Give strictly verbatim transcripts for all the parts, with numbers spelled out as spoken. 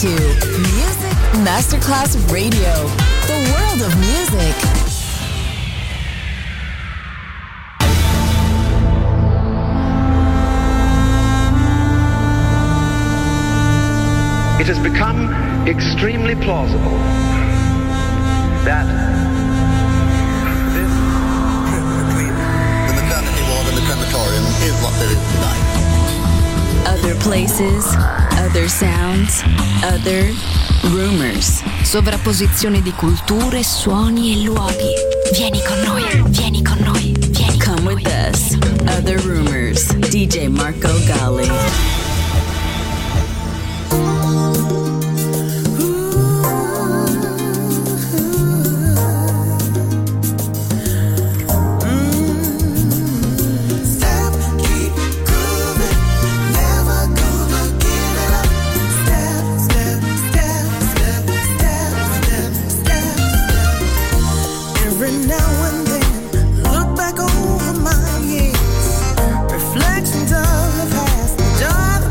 to Music Masterclass Radio, the world of music. It has become extremely plausible that this between the maternity ward and the crematorium is what there is tonight. Other places, other sounds, other rumors. Sovrapposizione di culture, suoni e luoghi. Vieni con noi, vieni con noi, vieni Come con with noi. us, Other Rumors, D J Marco Gally. Reflections of the past, joy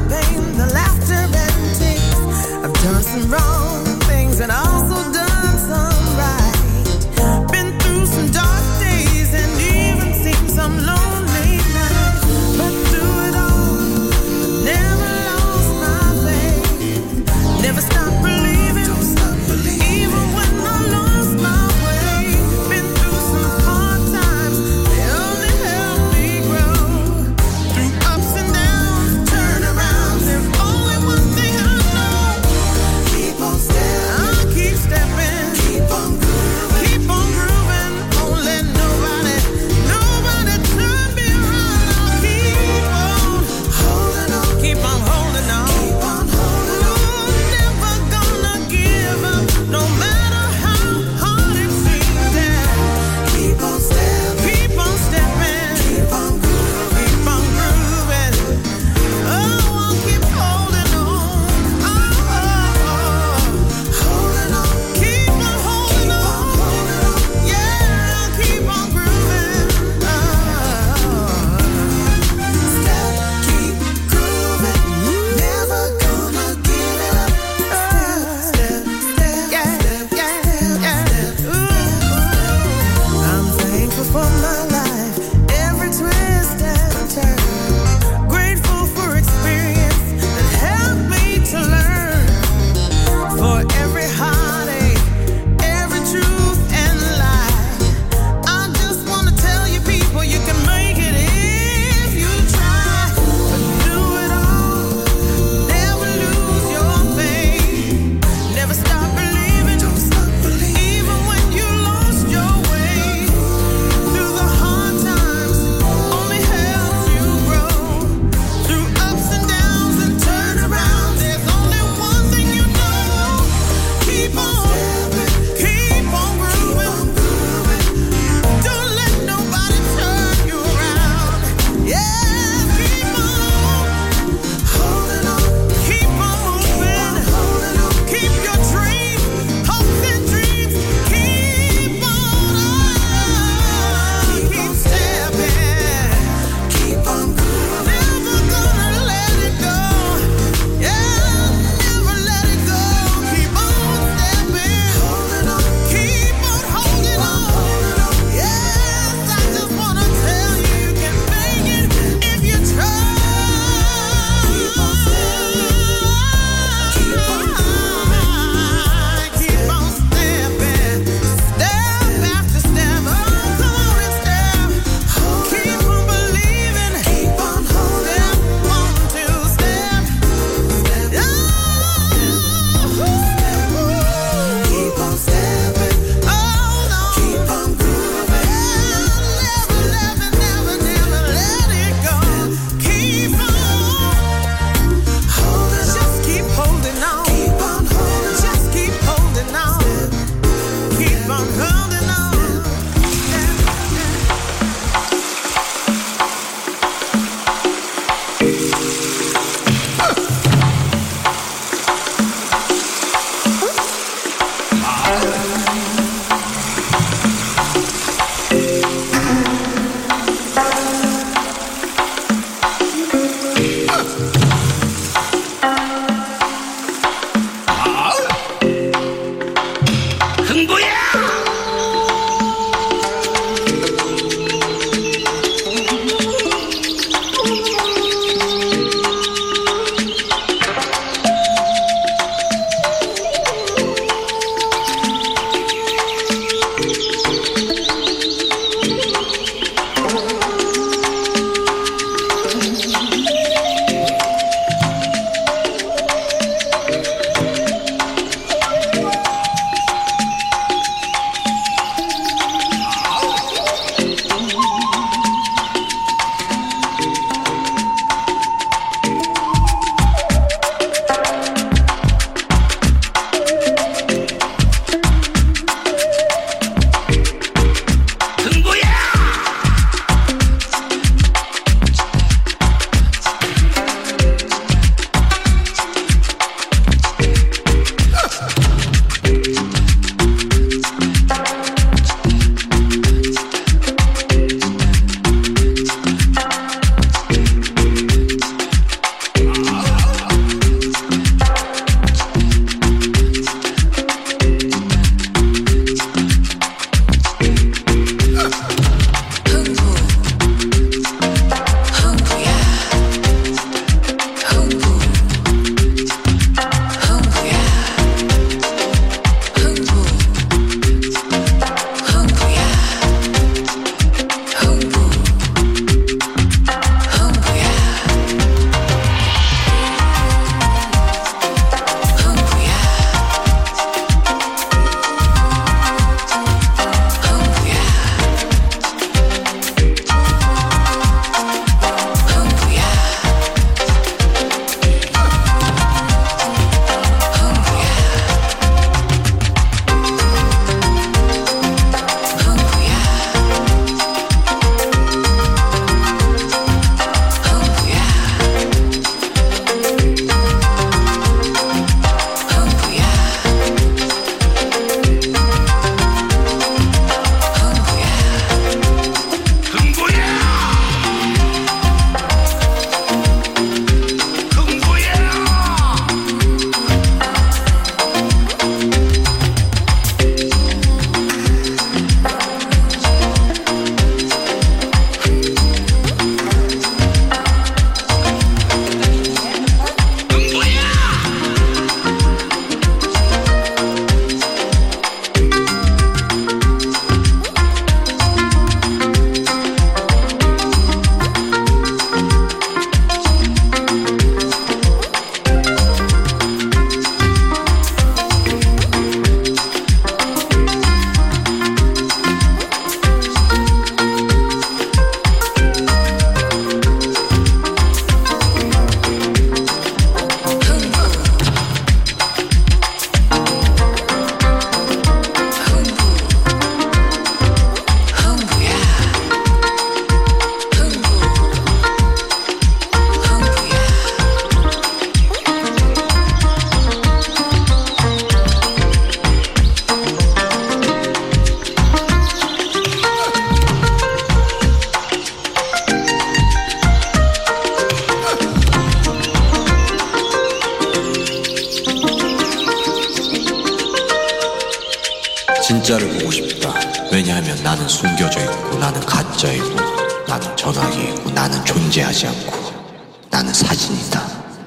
진짜를 보고 싶다. 왜냐하면 나는 숨겨져 있고 나는 가짜이고 나는 전화기이고 나는 존재하지 않고 나는 사진이다.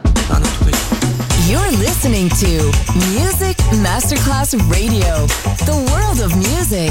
나는 도대체 You're listening to Music Masterclass Radio, the world of music.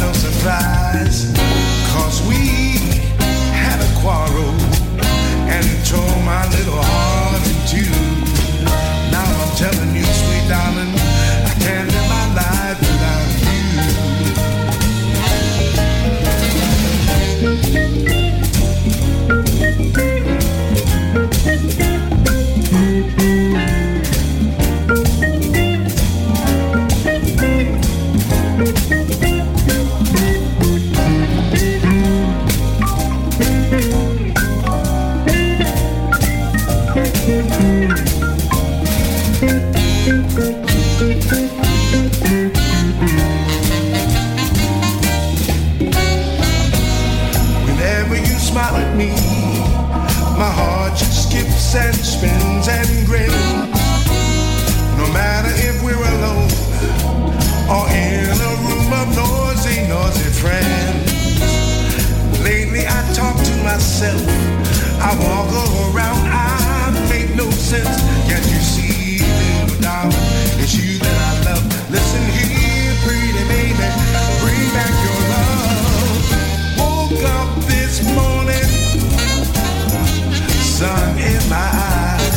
And smile at me, my heart just skips and spins and grins. No matter if we're alone or in a room of noisy, noisy friends. Lately I talk to myself, I walk around, I make no sense. Can't you see, little darling, it's you that I love. Listen here, pretty baby, bring back your love. Woke up this morning, sun in my eyes.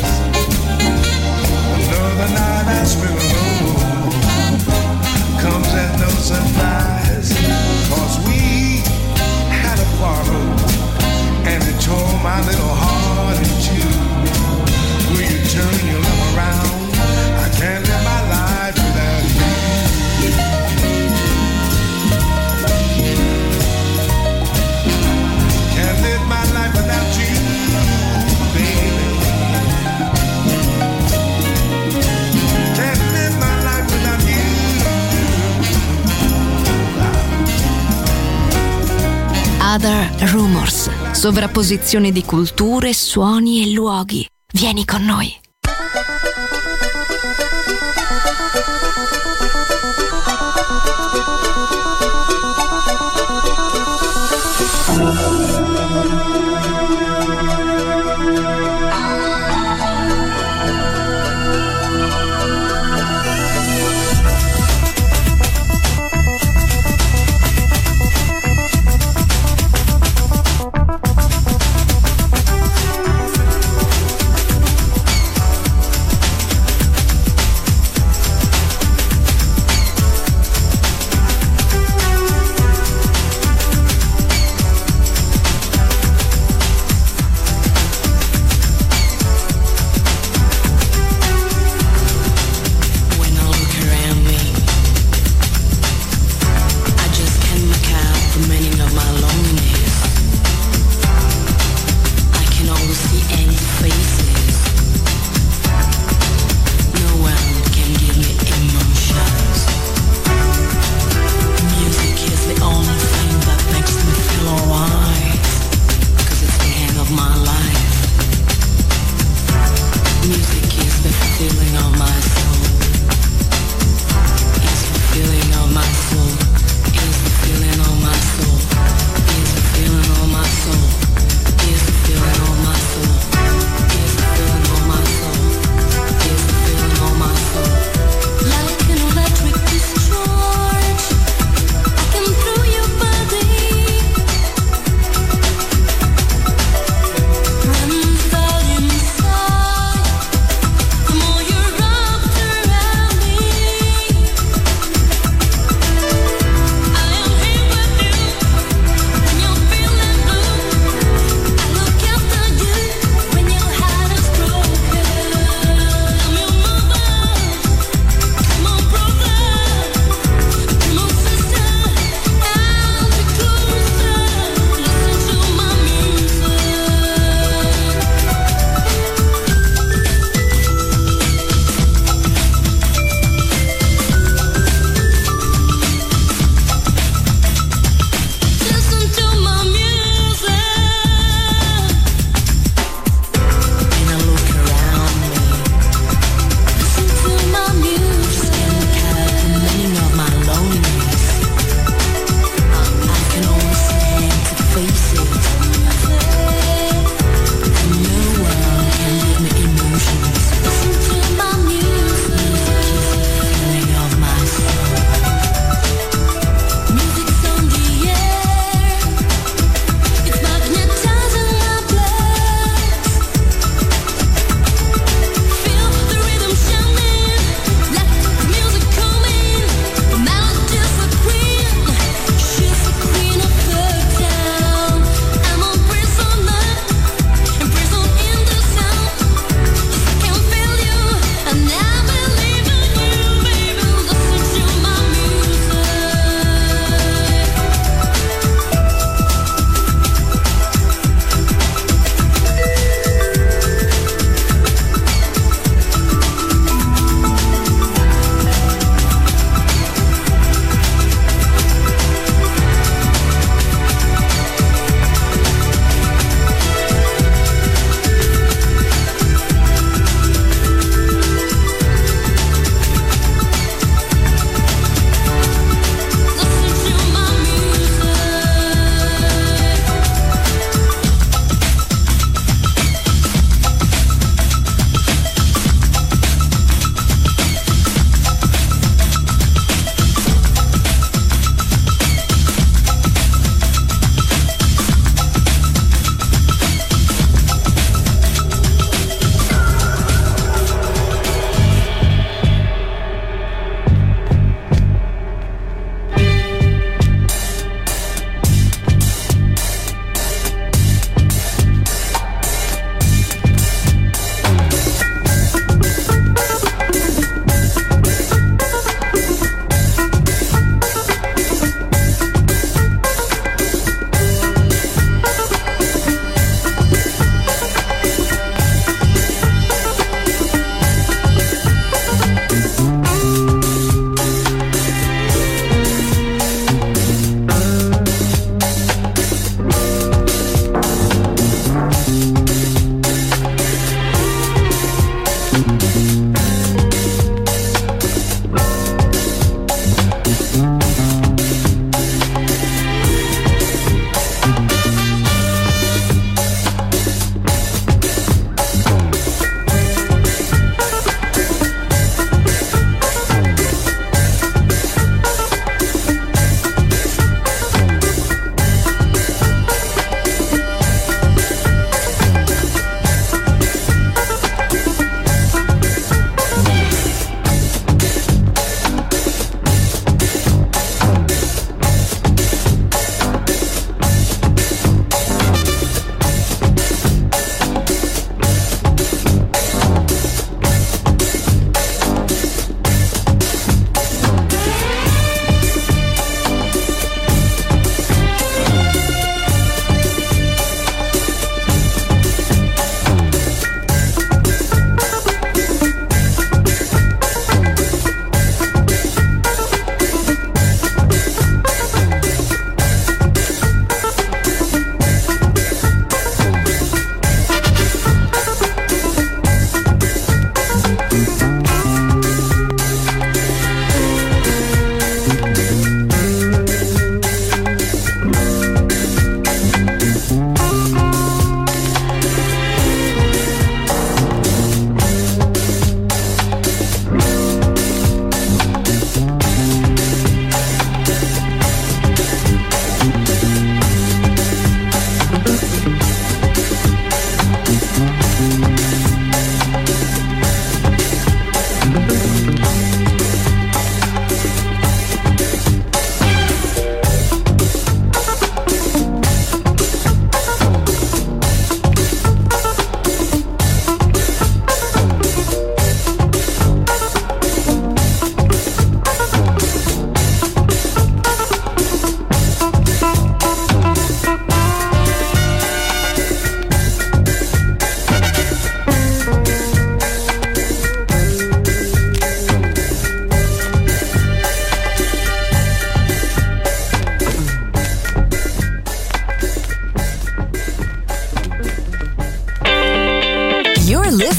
Another night I spent alone comes as no surprise. Cause we had a quarrel and it tore my little heart in two. Will you turn your love around? I can't live my life without you. Can't live my life without you, baby. Can't live my life without you. Other Rumors, sovrapposizione di culture, suoni e luoghi. Vieni con noi.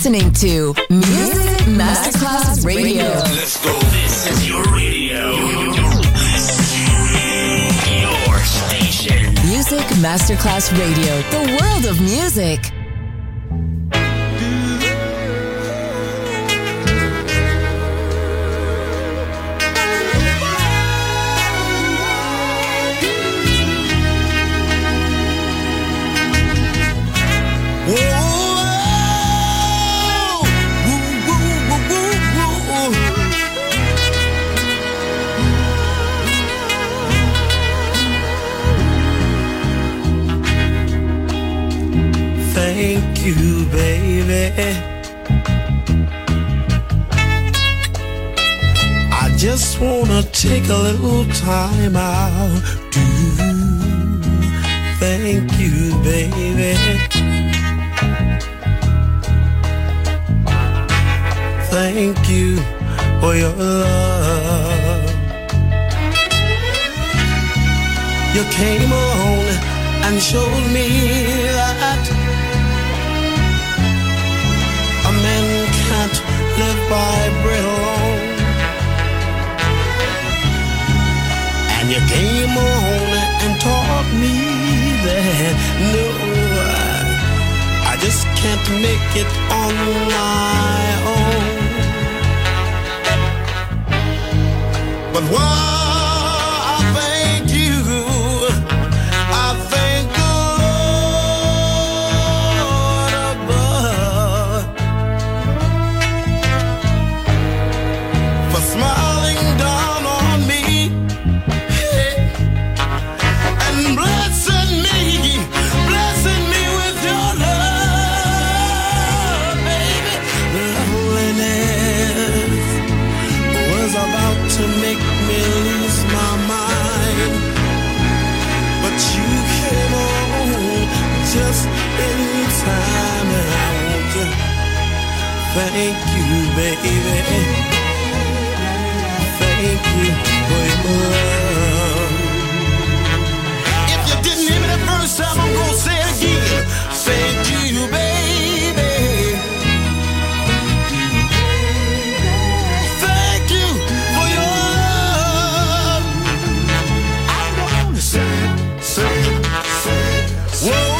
listening to Music Masterclass Radio. Let's go. This is your radio. Your station. Music Masterclass Radio. The world of music. Thank you, baby. I just wanna take a little time out to thank you, baby. Thank you for your love. You came along and showed me that a man can't live by bread alone. And you came on and taught me that no, I just can't make it on my own. But why? Thank you, baby. Thank you for your love. If you didn't hear me the first time, I'm gonna say it again. Thank you, baby. Thank you for your love. I'm gonna say, say, say, whoa.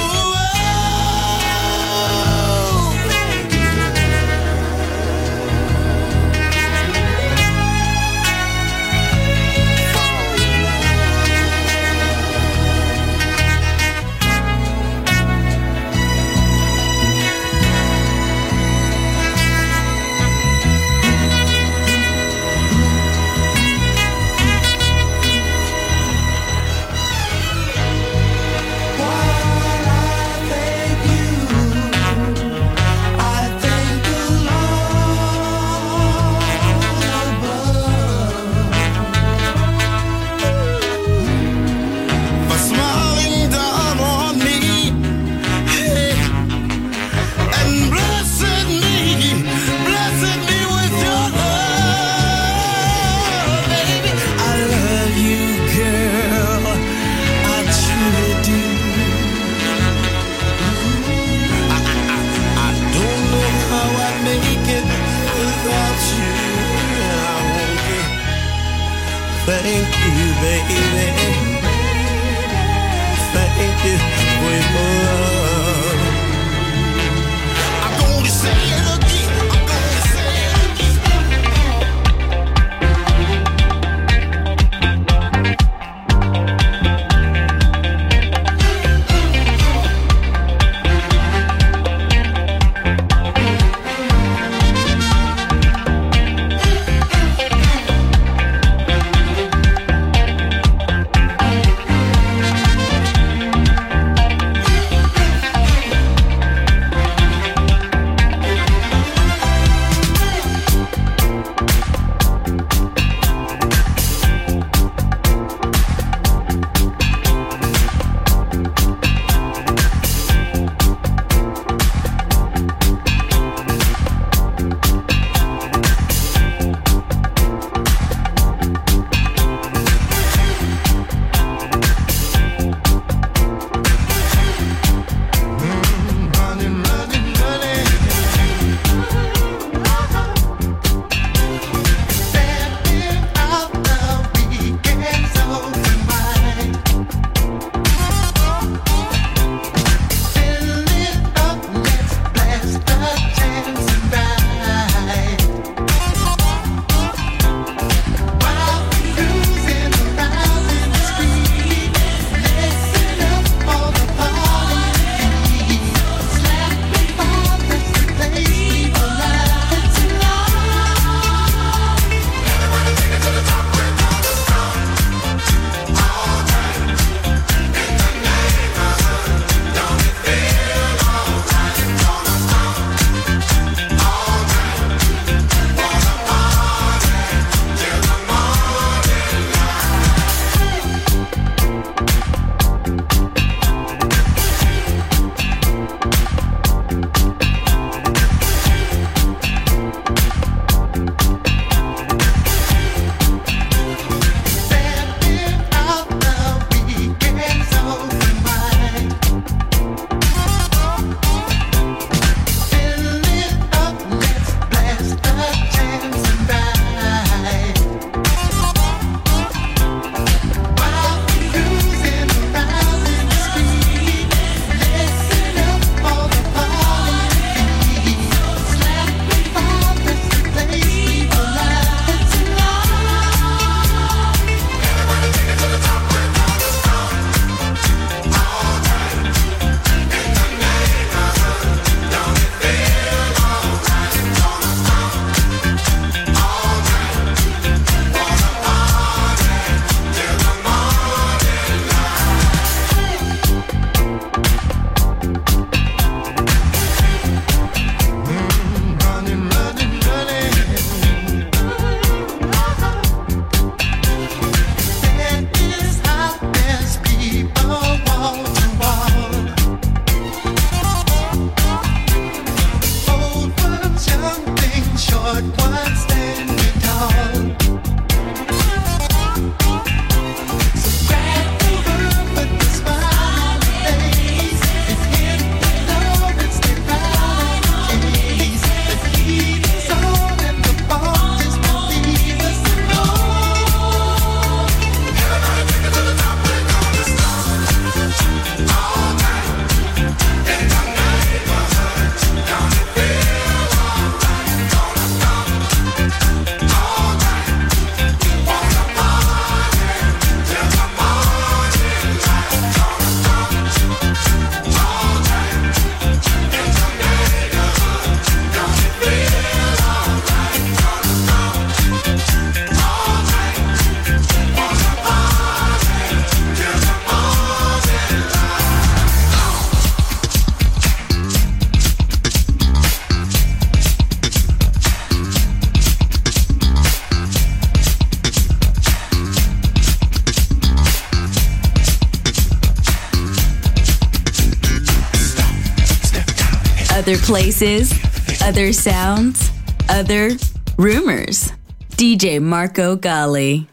Other places, other sounds, other rumors. D J Marco Gally.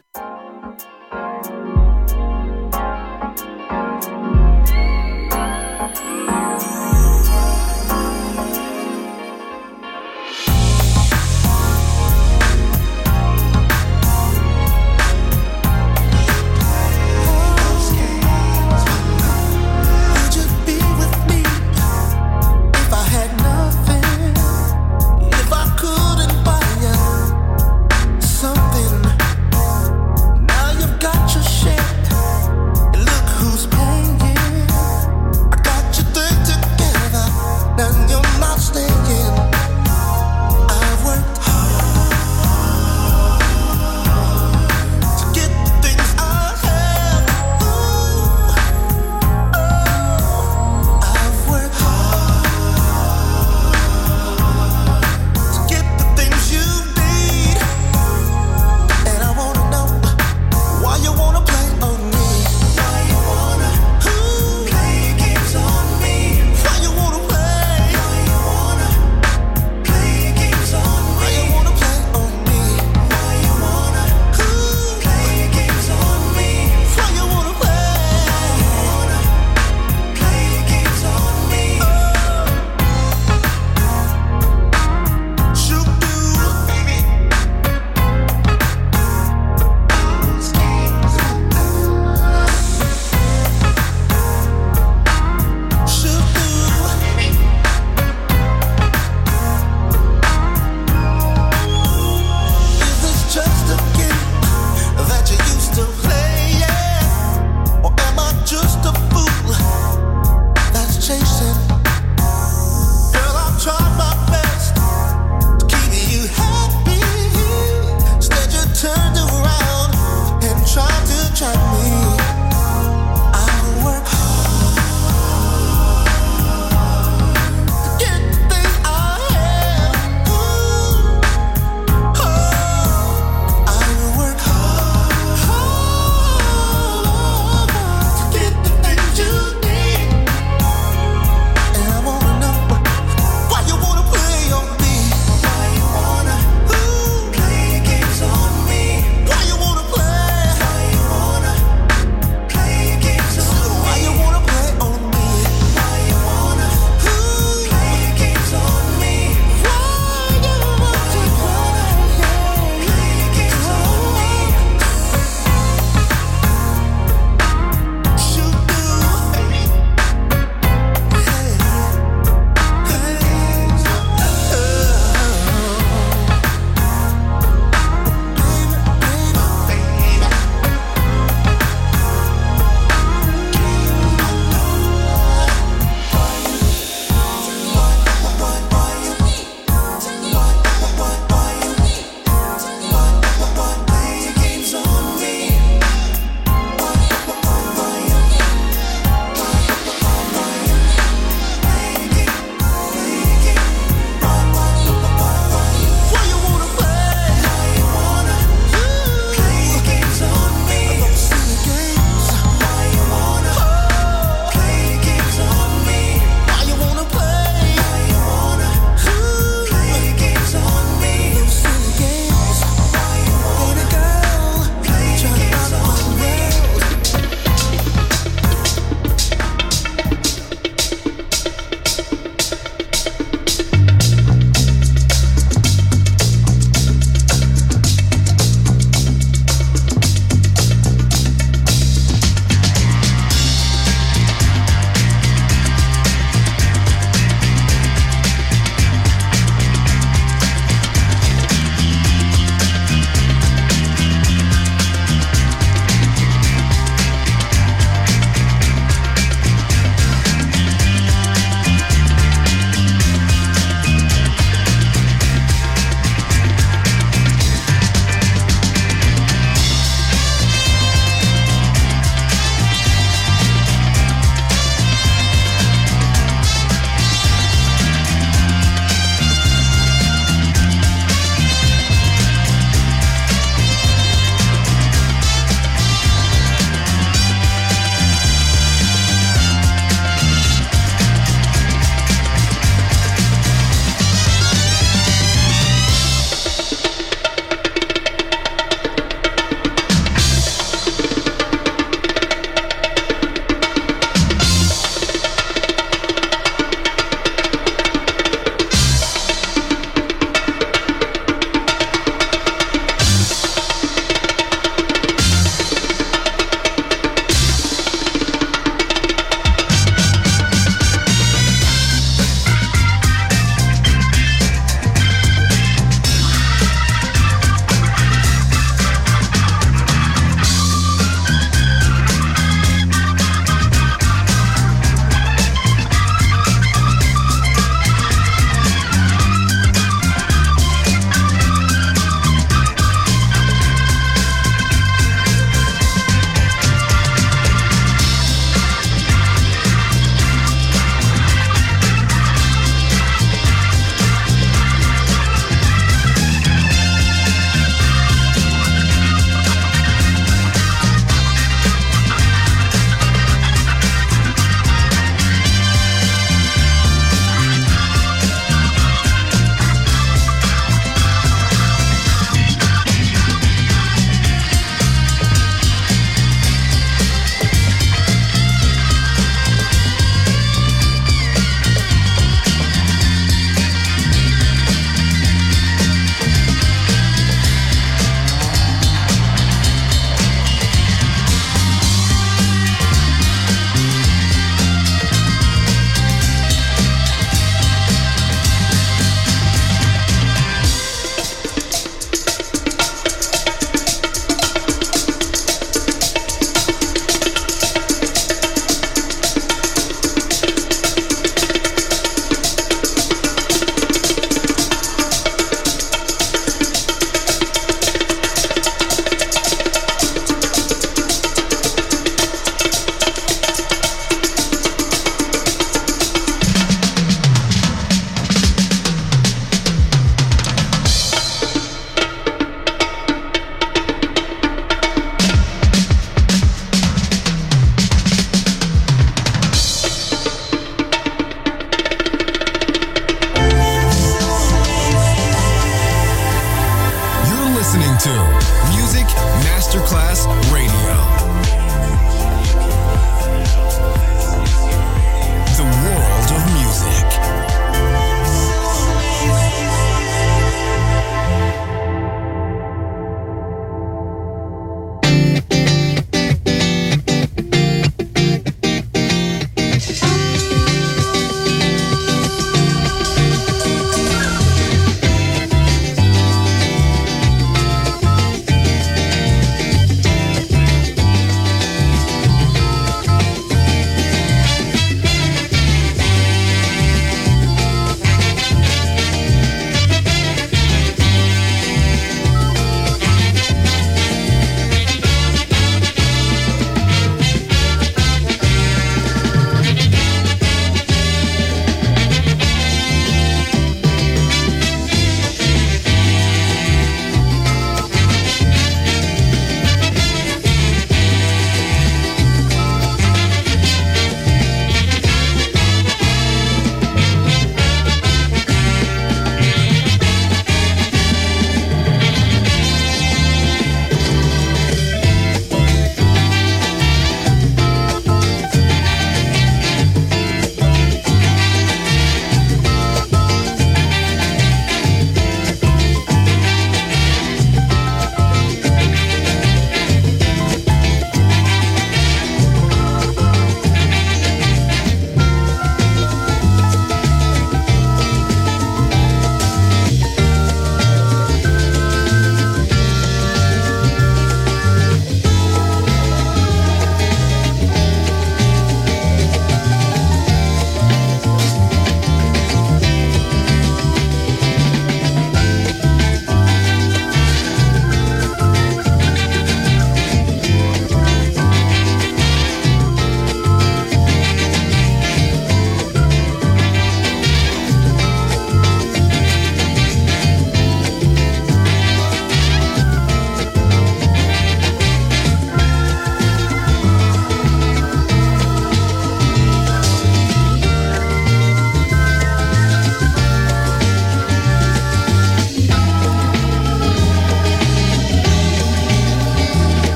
If I couldn't buy you something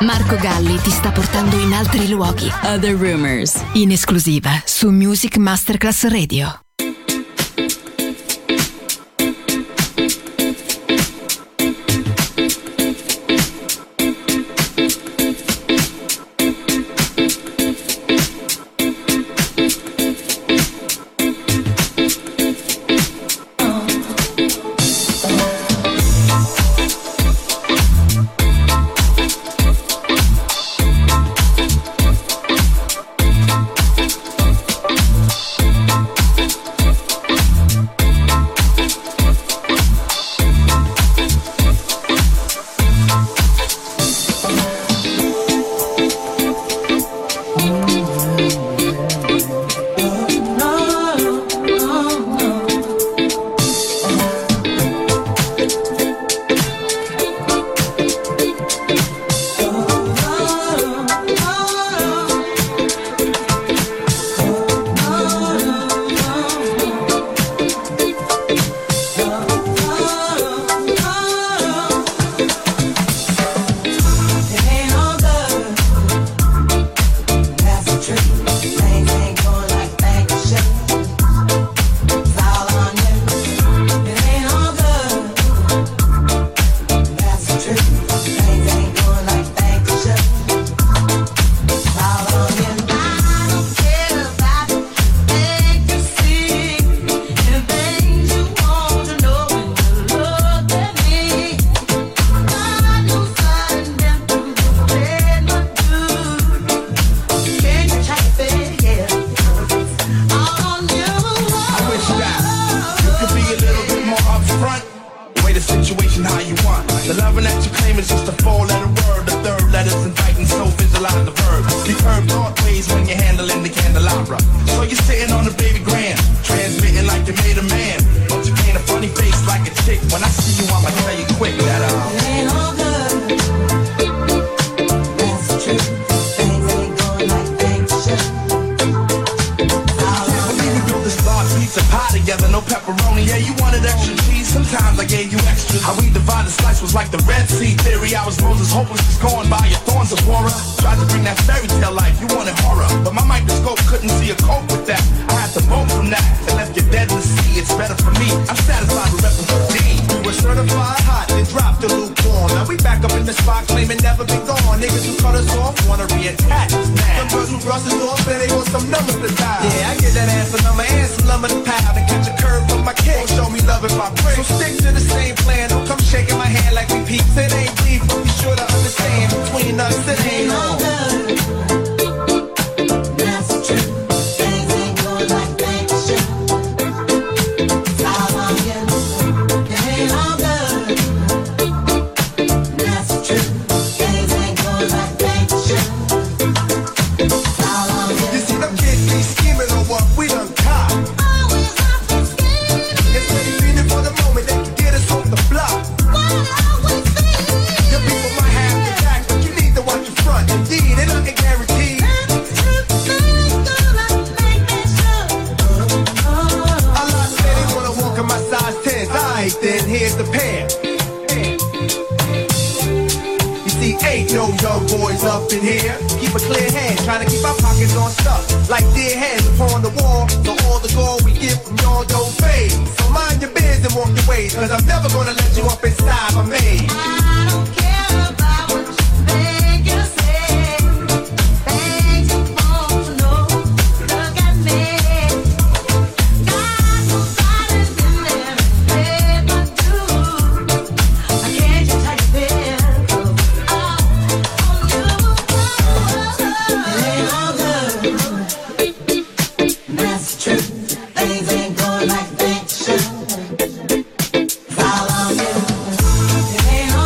Marco Galli ti sta portando in altri luoghi. Other Rumors, In esclusiva su Music Masterclass Radio. Follow you.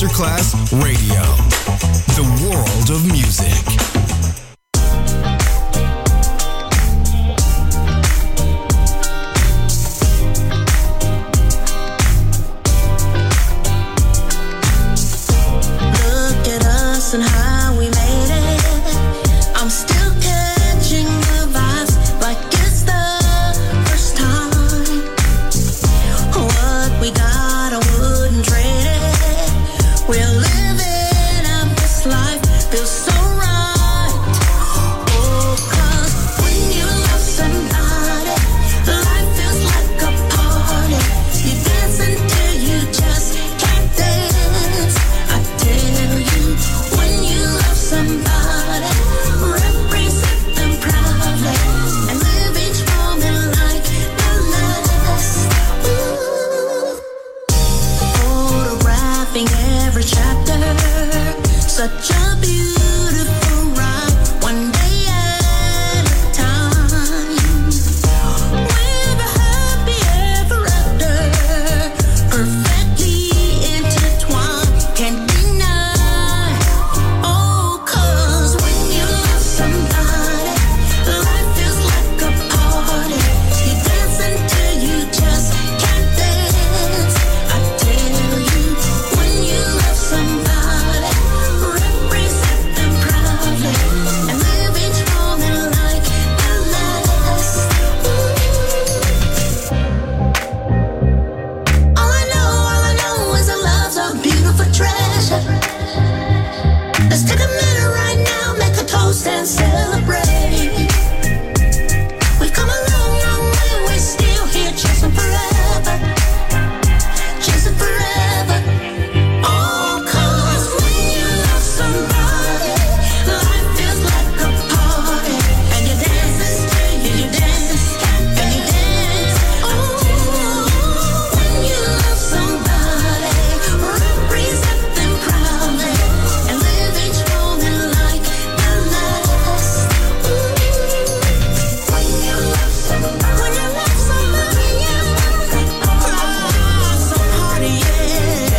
Masterclass Radio, the world of music. Look at us and how we made it. I'm still catching the vibes like it's the first time. What we got, I wouldn't trade it. We're living out this life, feels so right. Oh, 'cause when you love somebody, life feels like a party. You dance until you just can't dance. I tell you, when you love somebody, represent them proudly and live each moment like the last. Ooh. Photographing every chapter, such a beautiful ride, one day at a time. We're happy ever after, perfectly intertwined, can't deny. Oh, 'cause when you love somebody, life feels like a party. You dance until you just can't dance. I tell you, when you love somebody, represent them proudly and live each moment like the last. Ooh. All I know, all I know is that love's a beautiful treasure. Let's take a minute right now, make a toast and celebrate. We've come a long, long way, we're still here chasing forever, chasing forever. Oh, 'cause when you love somebody, life feels like a party, and you dance until you, you dance, and you dance. Oh, when you love somebody, represent them proudly and live each moment like the last. Ooh. When you love somebody, when you love somebody, yeah. Oh, so party, yeah.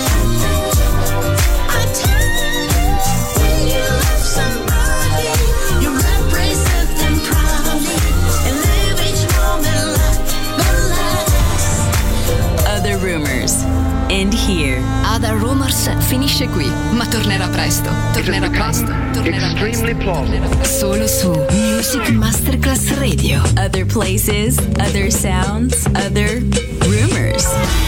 I tell you, when you love somebody, you represent them proudly and live each moment like the last. Other Rumors. End here. Other Rumors finisce qui, ma tornerà presto. Tornerà presto. Tornerà Extremely plausible. Solo su Music Masterclass Radio. Other places, other sounds, other rumors.